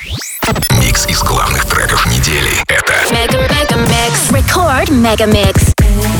Микс из главных треков недели. Это Mega Mix. Record Mega Mix.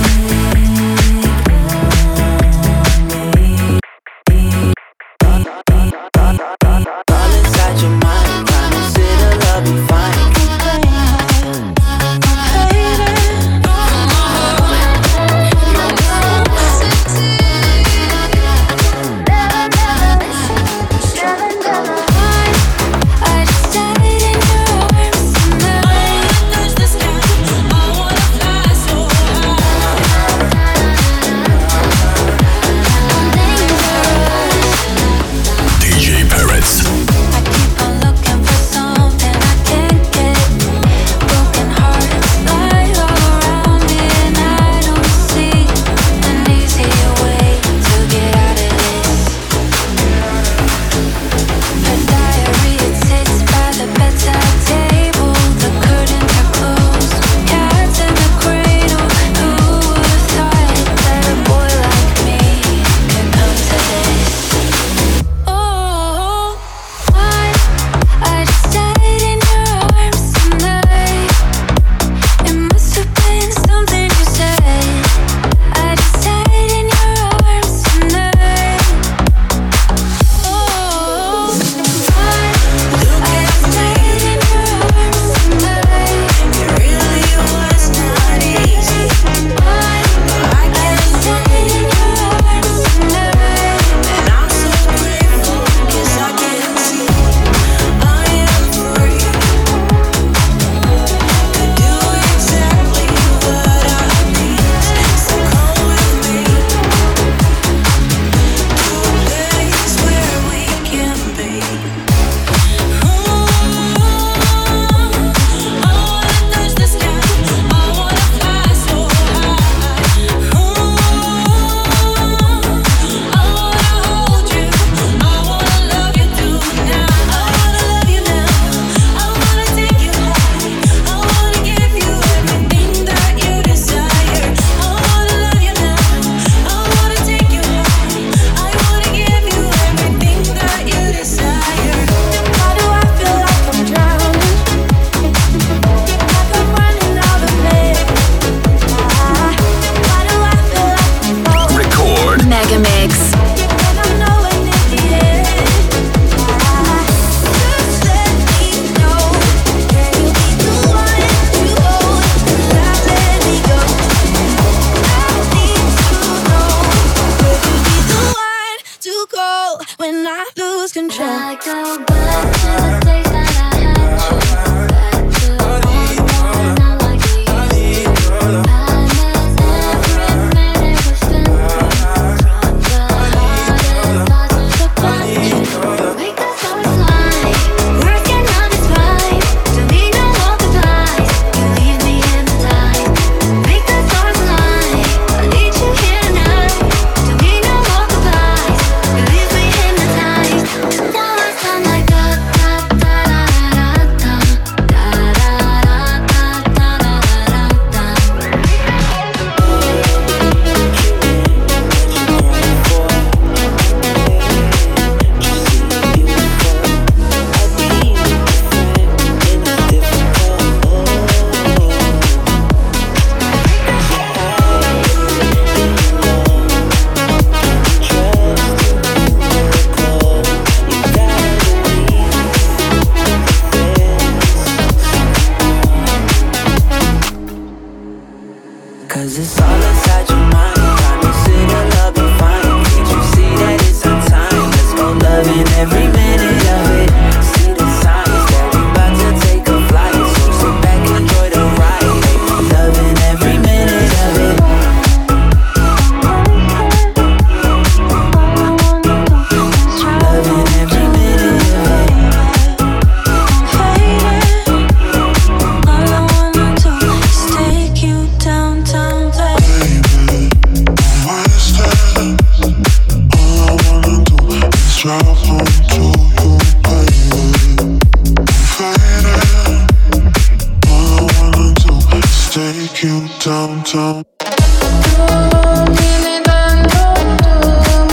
downtown.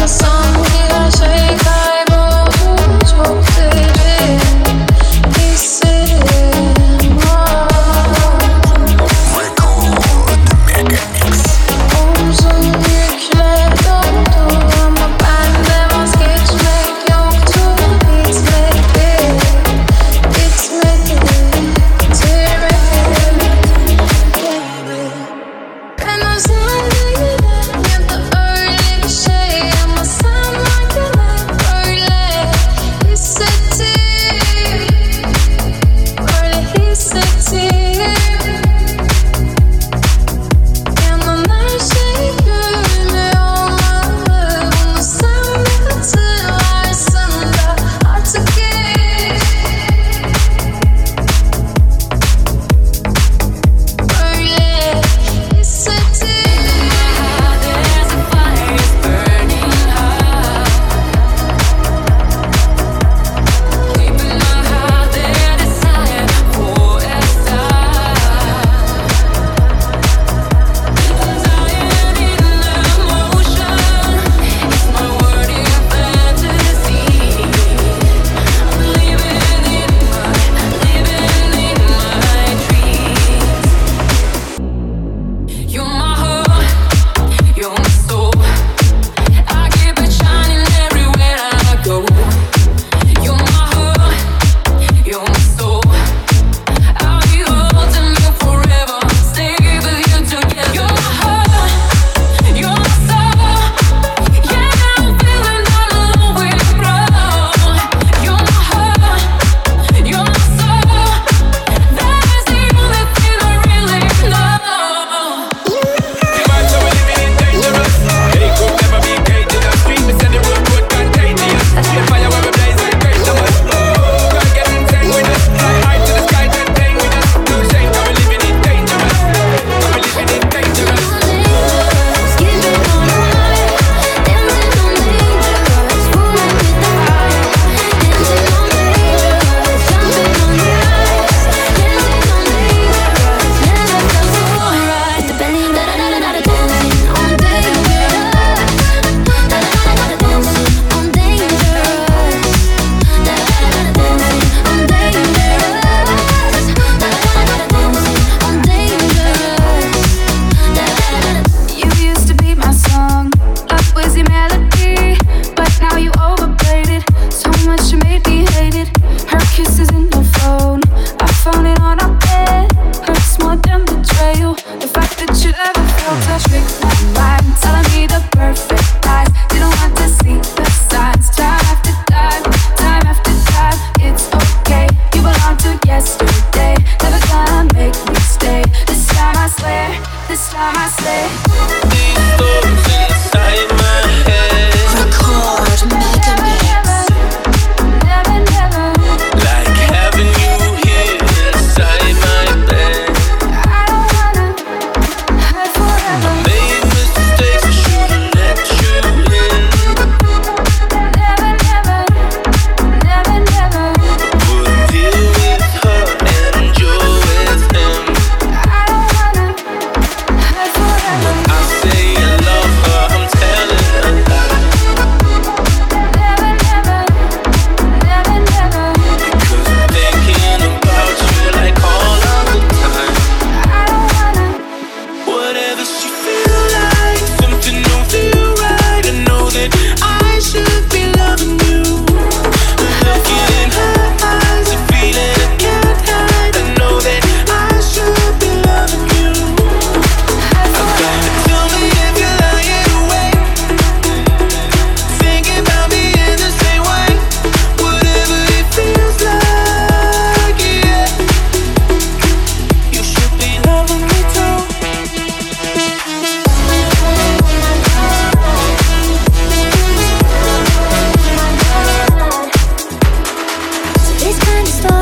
Take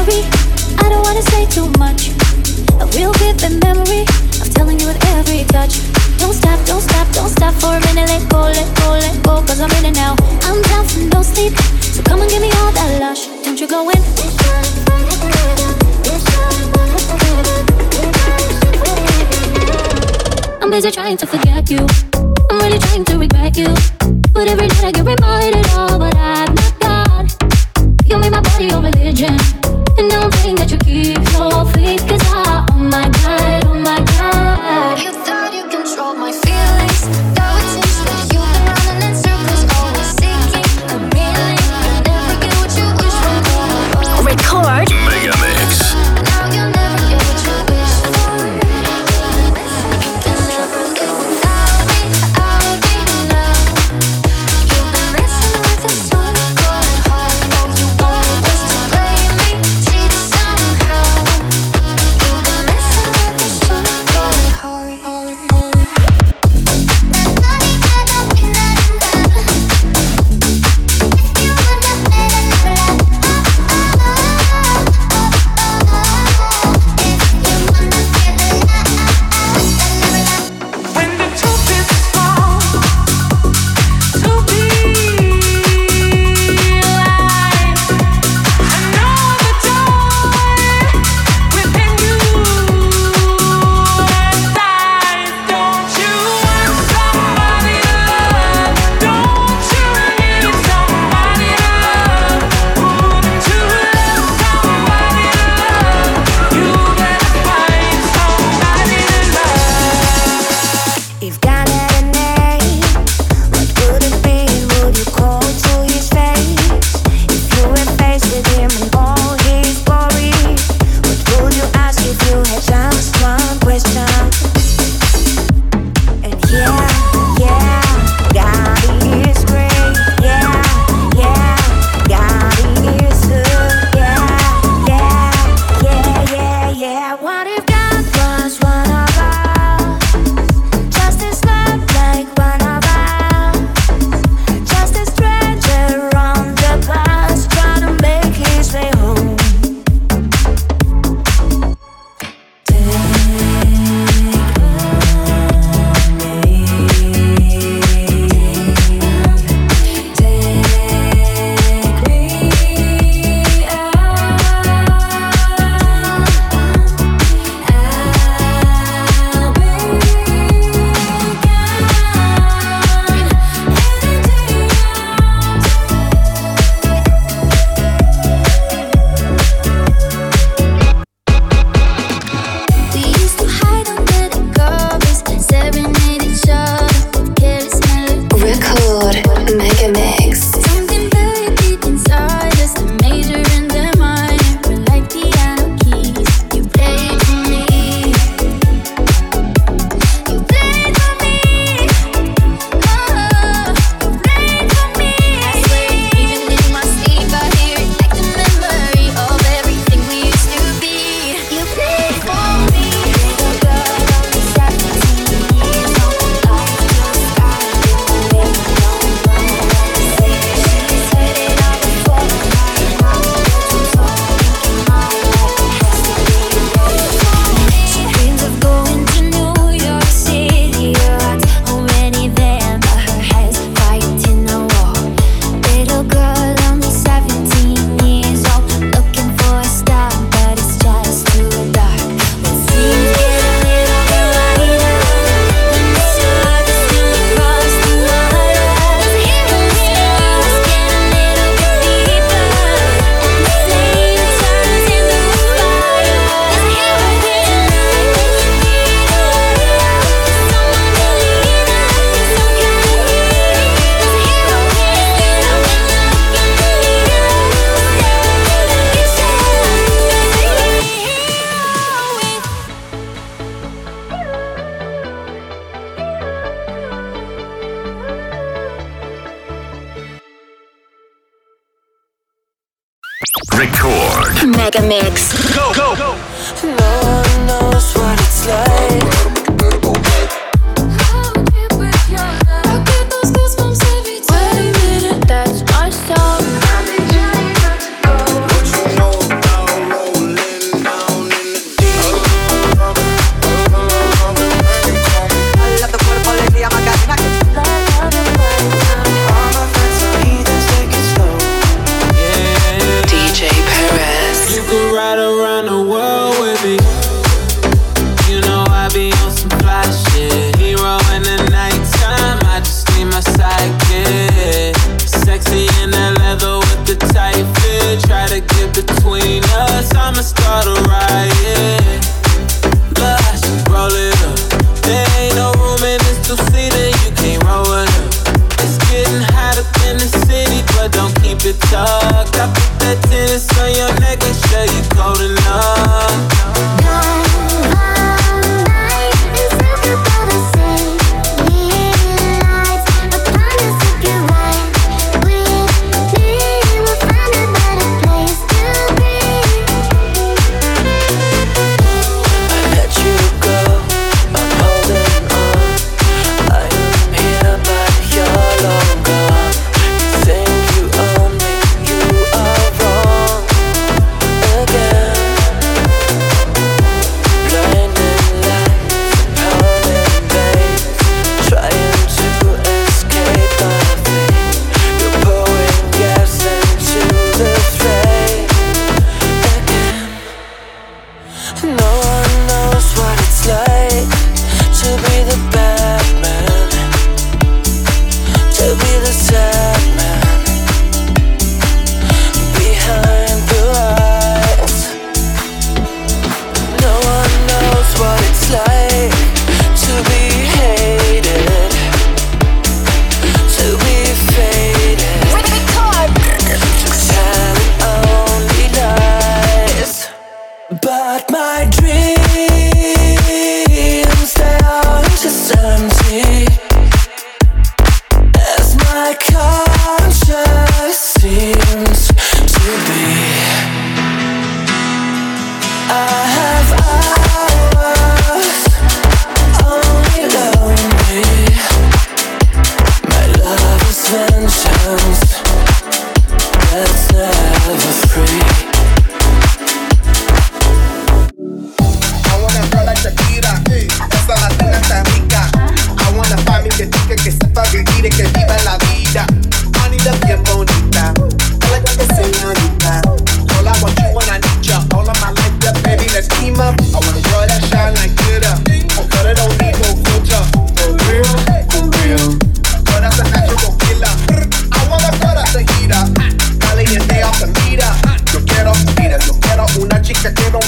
memory. I don't wanna say too much. A real vivid memory of telling you with every touch. Don't stop, don't stop, don't stop for a minute. Let go, let go, let go, cause I'm in it now. I'm down for no sleep, so come and give me all that lush. Don't you go in. I'm busy trying to forget you. I'm really trying to regret you. But every night I get reminded of what I've not got. You made my body your religion, and now I'm praying that you keep your faith. Cause oh my God, oh my God. You thought you controlled my feelings. Though it seems that you've been running in circles, always seeking a meaning. You'll never get what you wish for. Record Mega Mix. Now you'll never get what you wish for. You'll never get I'll be now. You've been messing with the sun, going hard. Oh, you want just to play me, cheat somehow. You've been messing with the sun, going hard. When the truth is wrong, to be alive, I know the joy within you dies. Don't you want somebody to love? Don't you need somebody to love? Wouldn't you love somebody to love? You better find somebody to love. If God had a name, what would it be? Would you call to his face? If you were faced with him and all his glory, what would you ask if you had just one question? And yeah, God is great. Yeah, God is good. Yeah. What if God was one of us? Just as love like one of us. Just a stranger on the bus, trying to make his way home. Take me We used to hide under the covers, serenade each other, careless melody. Record Mega Mix. Something very deep inside us, the major and the minor, we're like piano keys. You played for me. You played for me. Oh, you played for me. I swear, even in my sleep, I hear it like the memory of everything we used to be. You played for me. Little girl, only 17 years old. Life just started to make me know. Say she's headed out before the night. Now that you told me, thinking my life has to be yours. She dreams of going to New York City. Her heart's already there, but her head's fighting a war. Little girl, only 17 years old, looking for a star, but it's just too dark. When scenes get a little bit lighter, when the surface still across the water, the hero's stars get a little bit deeper, and the flame turns into a fire. There's a hero here tonight that you need, someone to lead us, some kind of healing. There's a hero here tonight when you're looking for Record. Mega Mix. Go. No one knows what it's like. I get those goosebumps every time. Wait a minute, that's our song. What you know about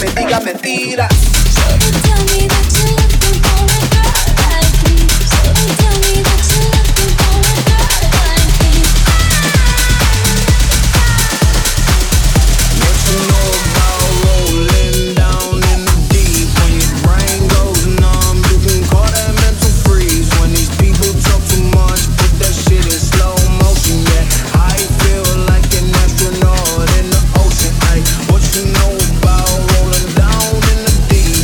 me diga mentira. What you know about rolling down in the deep?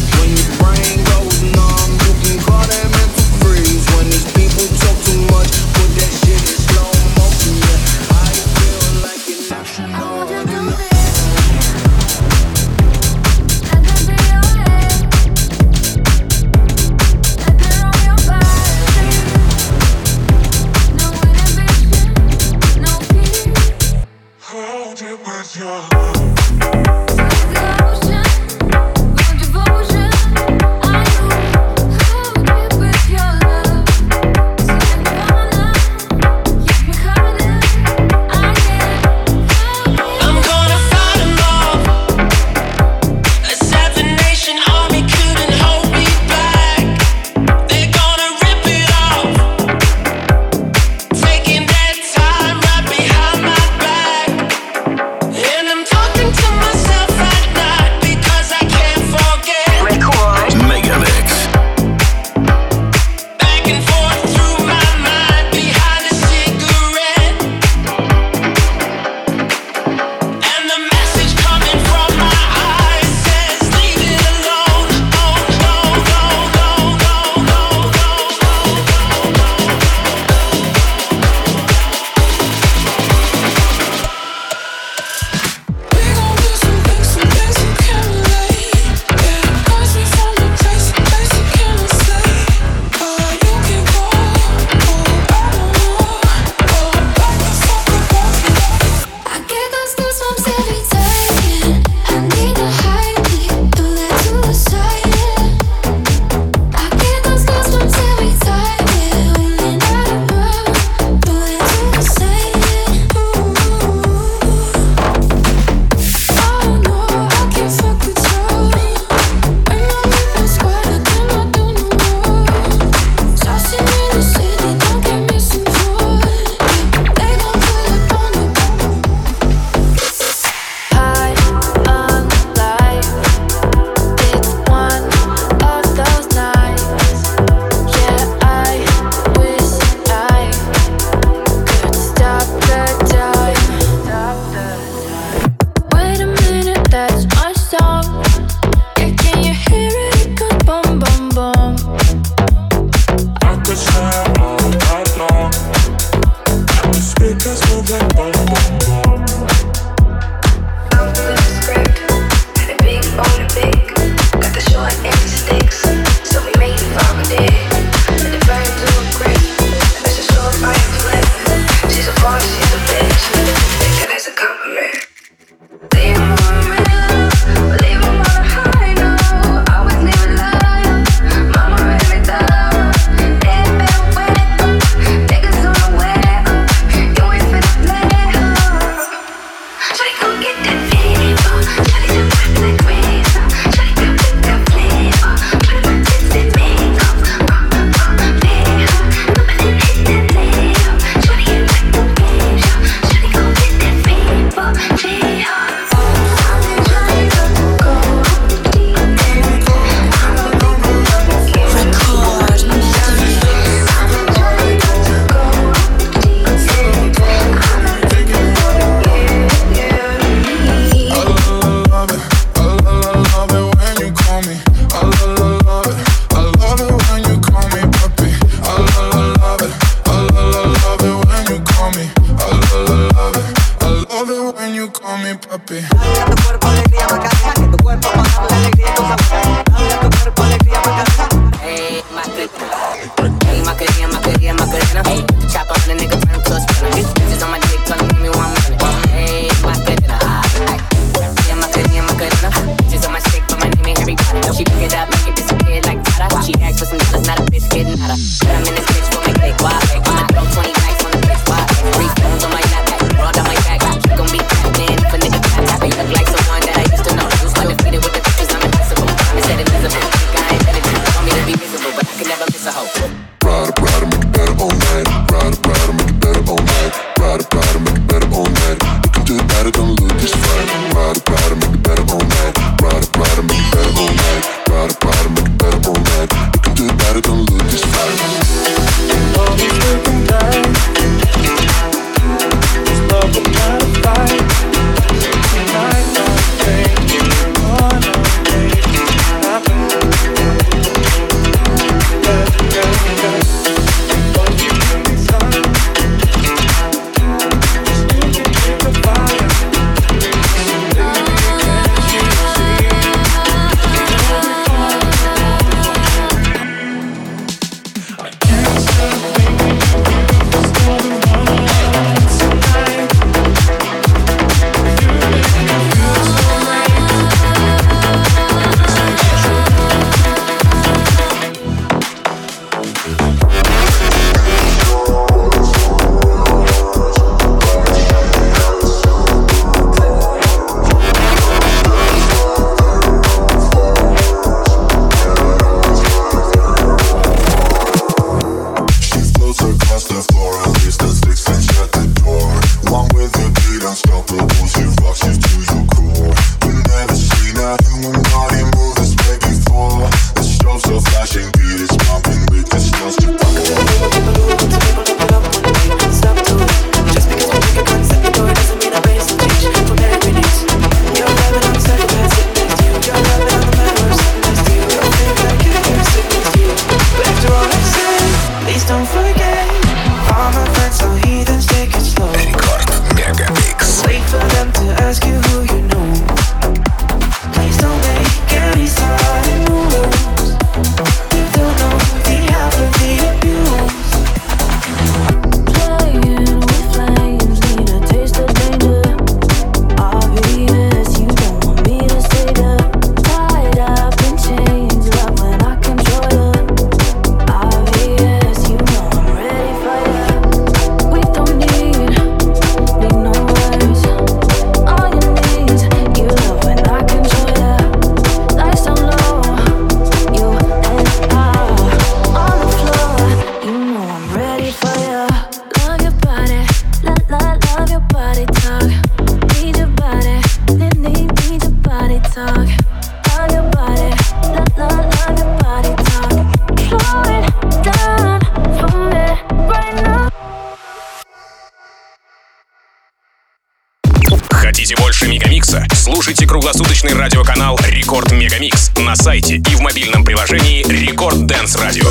Хотите больше Мегамикса? Слушайте круглосуточный радиоканал Рекорд Мегамикс на сайте и в мобильном приложении Рекорд Дэнс Радио.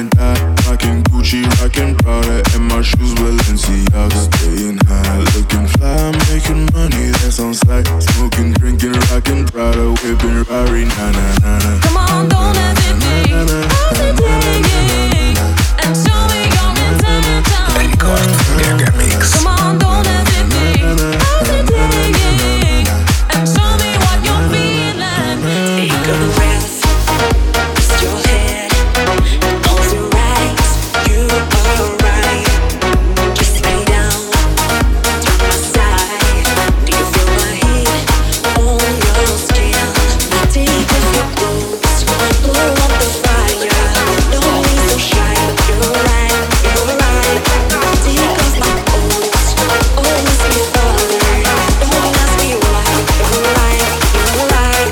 and die. Rockin' Gucci, rockin' Prada, and my shoes Balenciaga. Staying high, looking fly, making money, that's on sight. Smoking, drinking, rockin' Prada, whipping Rari, na na na na. Come on, don't hesitate, hesitating, and show me your intention. Рекорд Мегамикс. Come on, don't hesitate, hesitating, and show me what you're feeling. Take a breath, rest your head, close your eyes, you are right. Kiss me down, to my side. Do you feel my heat on your skin? Take off your clothes, blow up the fire. Don't be so shy, you're right, you're right. Take off my clothes, always be bothered. Don't ask me why, you're right, you're right.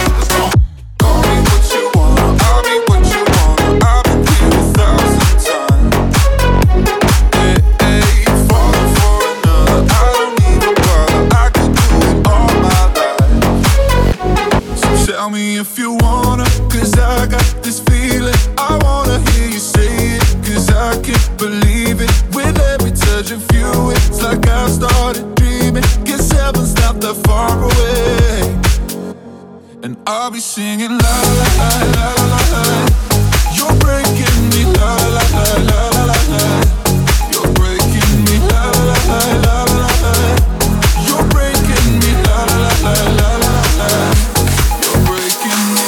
Tell me if you wanna, cause I got this feeling. I wanna hear you say it, cause I can't believe it. With every touch of you, it's like I started dreaming. Guess heaven's not that far away. And I'll be singing la la la la la la. You're breaking me la la la la la la. You're breaking me la la la la la la. You're breaking me la la la la la la. You're breaking me.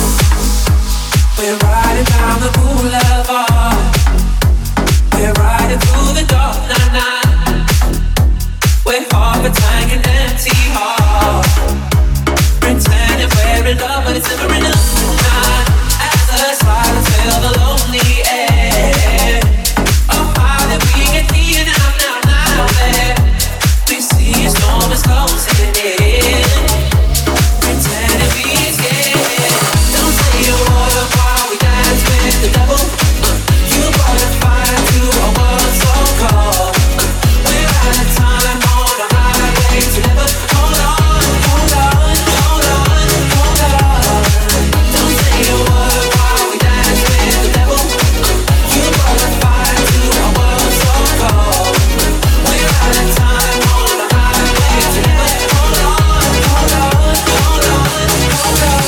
We're riding down the boulevard. We're riding through the dark night. We're half a tank and empty heart. Pretending we're in love, but it's never enough tonight. As the slide until the lonely end. Oh, how did we get here now there? We see a storm is closing in. Pretending we escape. Don't say a word while we dance with the devil. You brought a fire to a world so cold. We're out of time on a highway to never. Hold on, hold on, hold on, hold on. Don't say a word while we dance with the devil. You brought a fire to a world so cold. We're out of time on a highway to never. Hold on, hold on, hold on, hold on.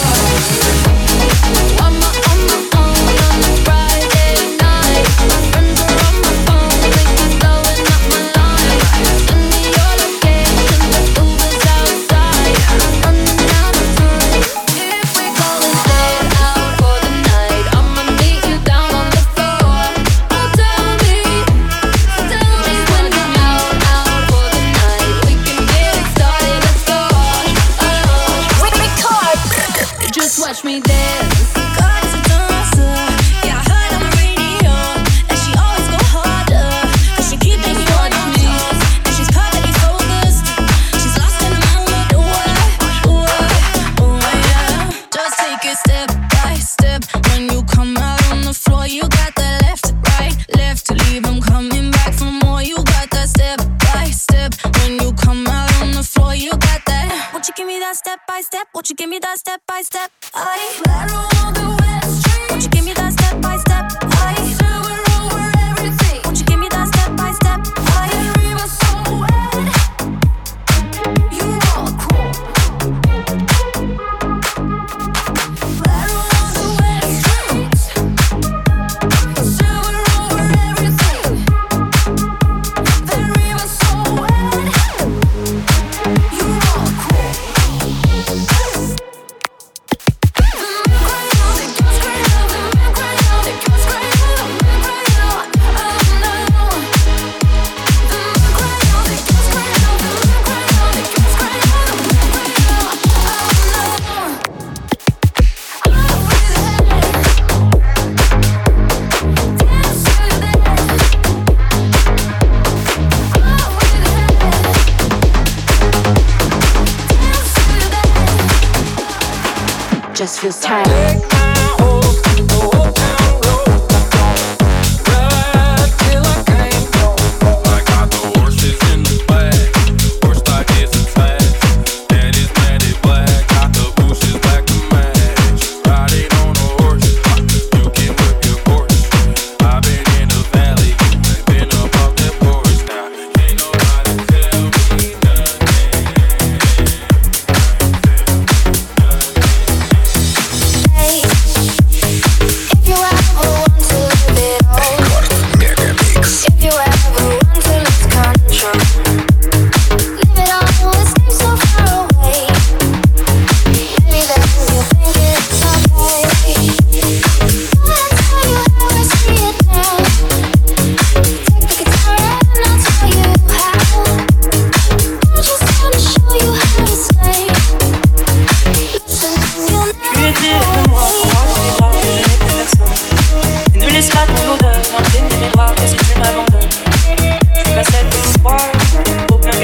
I'm on the phone on a Friday night. Friends are on my phone, thinking blowing up my line. Send me your location, the Uber's outside. Running out of time. If we go and stay out for the night, I'ma meet you down on the floor. Oh, tell me when you're out for the night, we can get it started. Let's go. Record. Just watch me dance. Got to dancer. Yeah, I heard on the radio that she always go harder. 'Cause she keep making me on toes. And she's perfectly focused. She's lost in the moment. Yeah. Just take it step by step. When you come out on the floor, you got that left, right, left. Leave 'em coming back for more. You got that step by step. When you come out on the floor, you got that. Won't you give me that step by step? Won't you give me that step by step? Won't you give me that step by step? Won't you give me that step by step? You are cool. Just feels tired.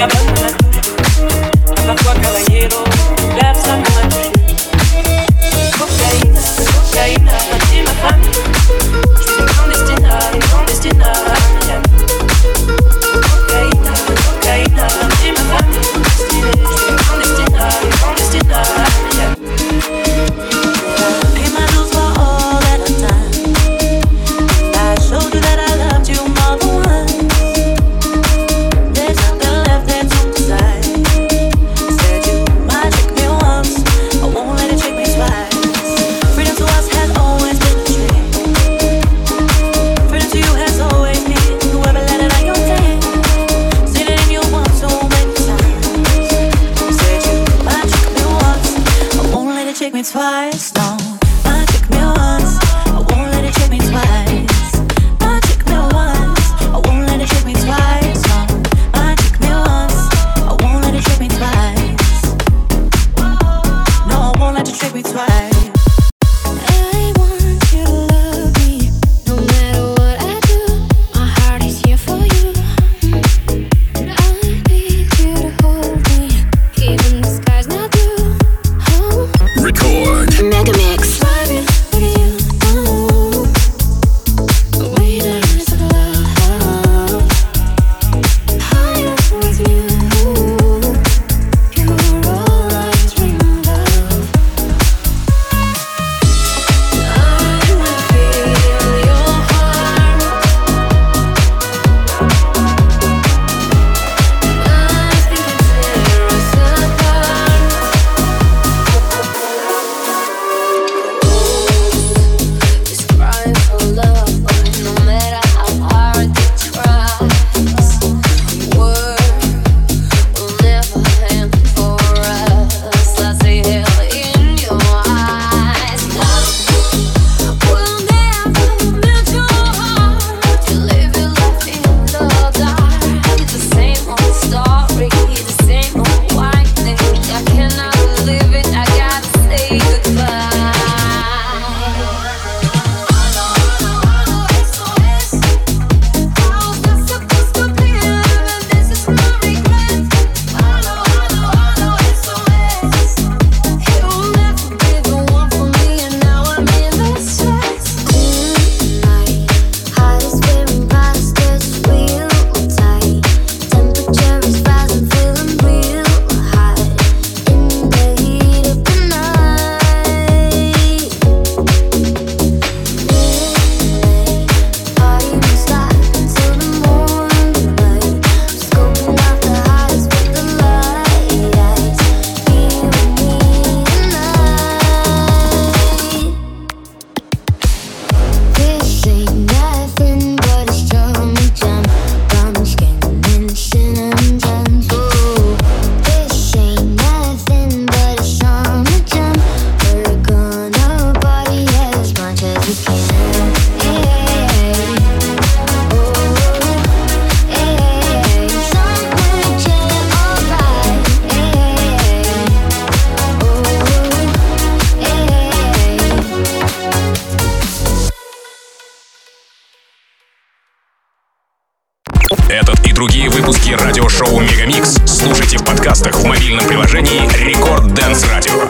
Этот и другие выпуски радиошоу «Мегамикс» слушайте в подкастах в мобильном приложении Рекорд Dance Radio.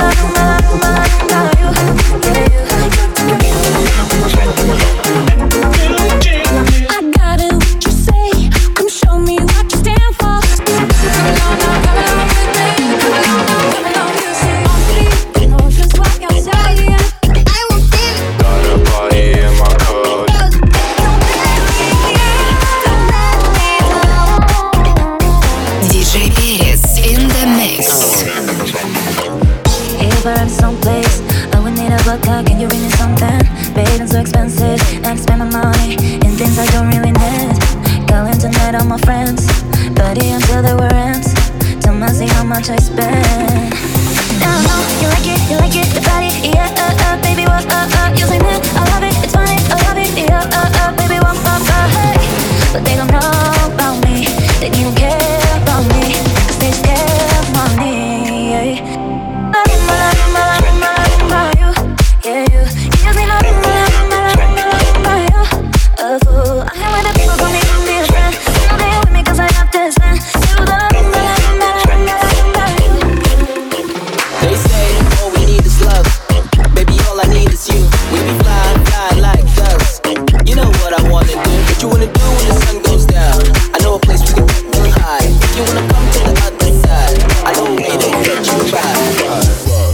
Can you bring me something? Babe, it's so expensive. I spend my money in things I don't really need. Calling tonight all my friends, buddy until they were ends. Tell me see how much I spend. Now I know you like it, the body, yeah, baby, what, you say that, I love it, it's funny, I love it, yeah, baby, what, hey. But they don't know about me, they don't care about me, 'cause they scared of money, yeah. I hang with the people, call me a friend. You know they with me 'cause I have this man. You the what I wanna do. What you wanna do when the sun goes down? I know a place we can get real high. If you wanna come to the other side, I know a way to get you right.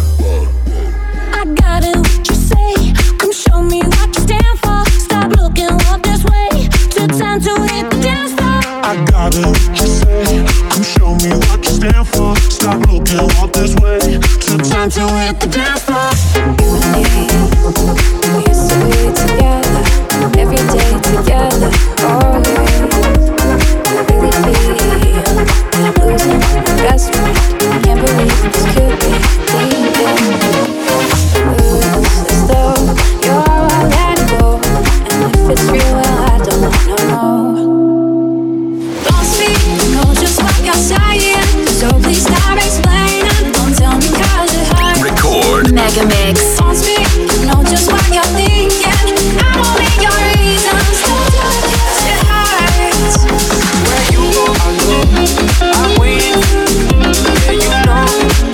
I got it, what you say. Come show me what you stand for. Stop looking up this way. Took time to hit the dance floor. I got it, what you say. Come show me what you stand for. Stop looking up this way. Took time to hit the dance floor. You and me, we used to be together, every day together, always. Really feel I'm losing my best friend. Can't believe this could be leaving. As though you're all I let go, and if it's real, well, I don't wanna know. Don't speak, know just what you're saying. So please stop explaining. Don't tell me 'cause it hurts. Record. Mega Mix. Don't speak, know just what you're thinking. I don't need your reasons. Don't tell me 'cause it hurts. Where you go, I go. I'm waiting. Yeah, you know.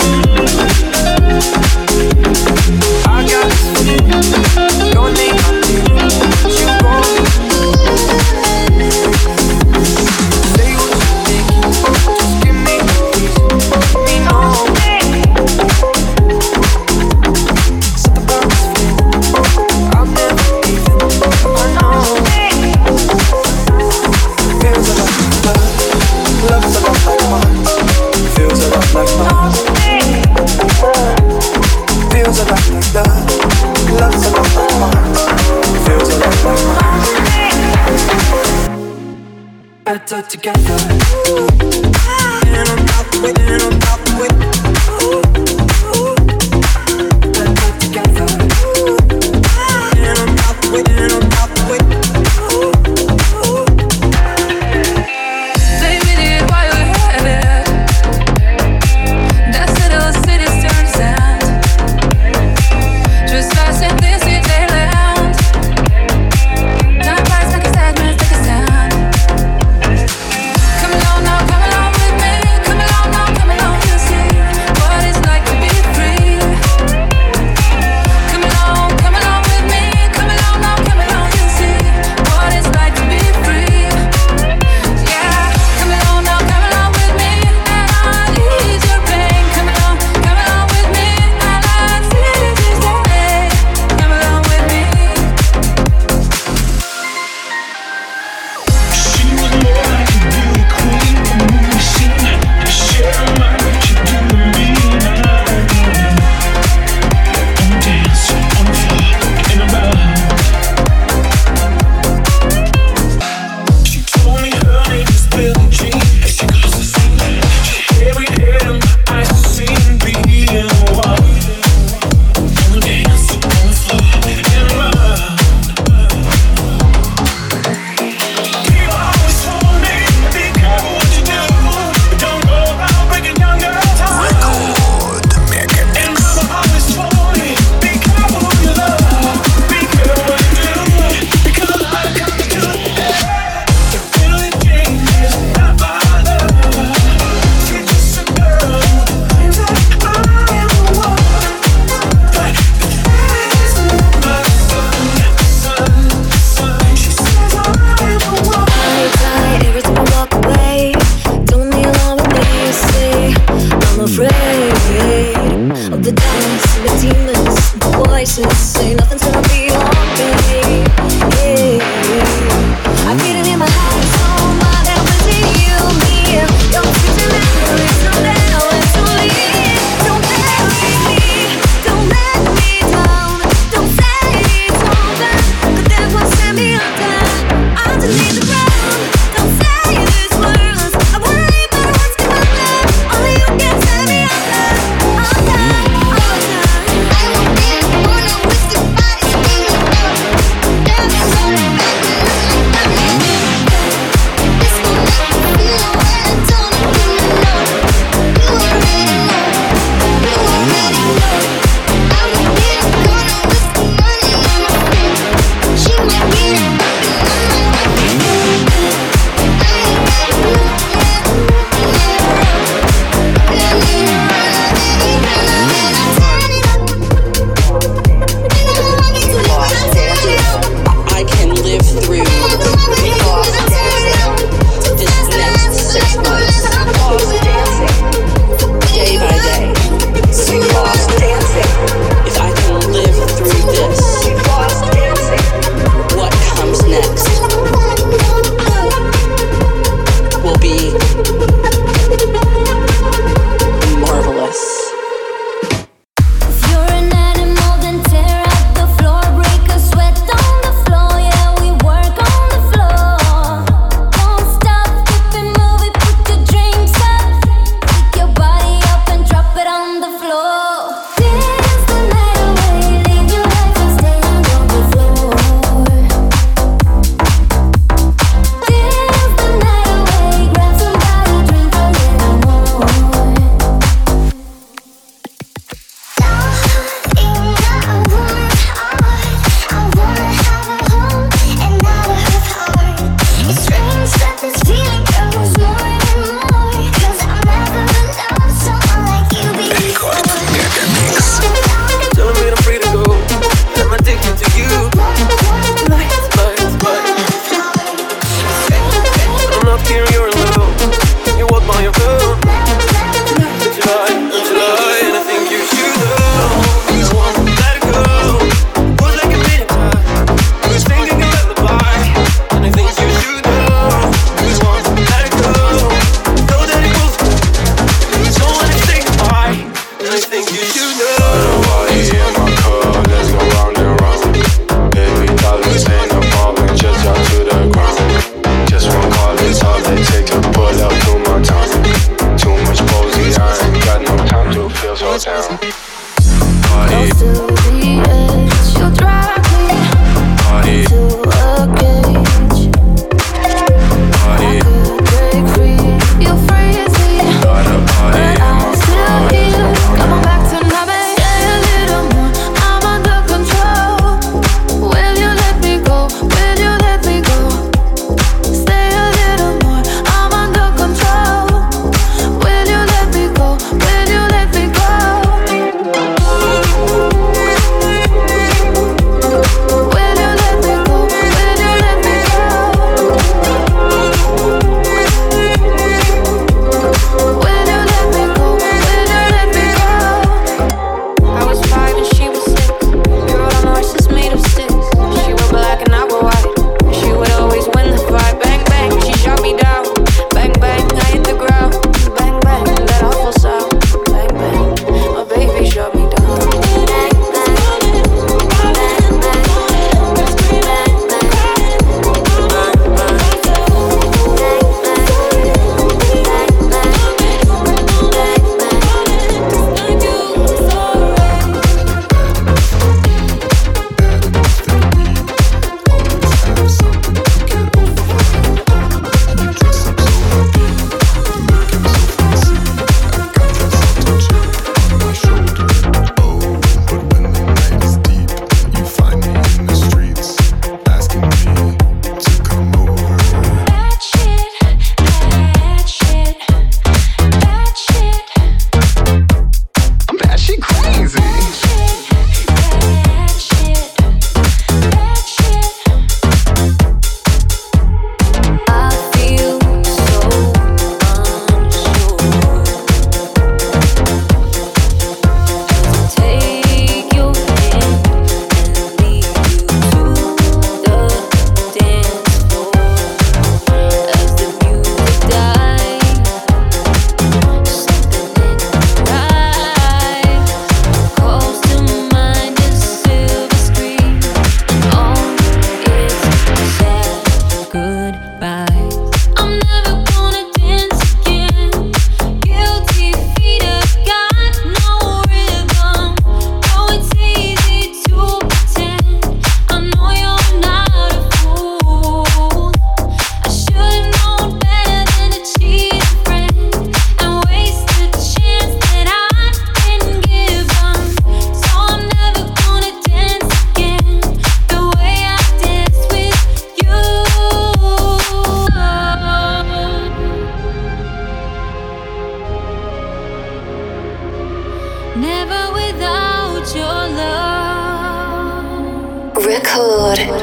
I got this feeling. Your name, I feel. You go. Say what you think. Just give me a reason. Let me know. Something about this feeling. I'm never leaving. I know. Feels a lot like love. Love's a lot like mine. Feels a lot like mine. Feels a lot like love. Love's a lot like mine. Feels a lot like mine. Better together. And I'm not the way, and I'm not the way. Better together. And I'm not the way, and I'm not the way. Baby, did while you had it. That little city's turned sand. Just us in this city land. Time flies like a sadness, like a sound. Come along now, come along with me. Come along now, come along, you'll see what it's like to be free. Come along with me. Come along now, come along, you'll see what it's like to be free. Yeah, come along now, come along with me, and I'll ease your pain. Come along with me, and I'll see you stay. Come along with me. She was more like a beauty queen from a movie scene. Share a mind what you do to me. On the dance, on the floor, in a bar. She told me her name is Billie Jean. And she goes to sing. She carried head and my eyes to see and be in one. On the dance, on the floor, in a bar. People always told me, be careful what you do. Don't go around breaking young girls' hearts. And mama always told me, be careful who you love. Be careful what you do, because a lot of come to it. If Billie Jean is not my love, she's just a girl who claims that I am the one. But this is my son. She says I am the one. Hold tight every time I walk away. Don't be alone with me, you see. I'm afraid of the dance, the demons, the voices say nothing's gonna be okay. Yeah. I feel it in my heart, so my that was it, you, me. Your future memories, no matter when to leave. Don't bury me, don't let me down. Don't say it's over, 'cause that's what set me under. Underneath the ground, don't say these words. I wanna leave, but what's gonna happen? Only you can set me under. I won't be the one with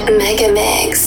Mega Mix.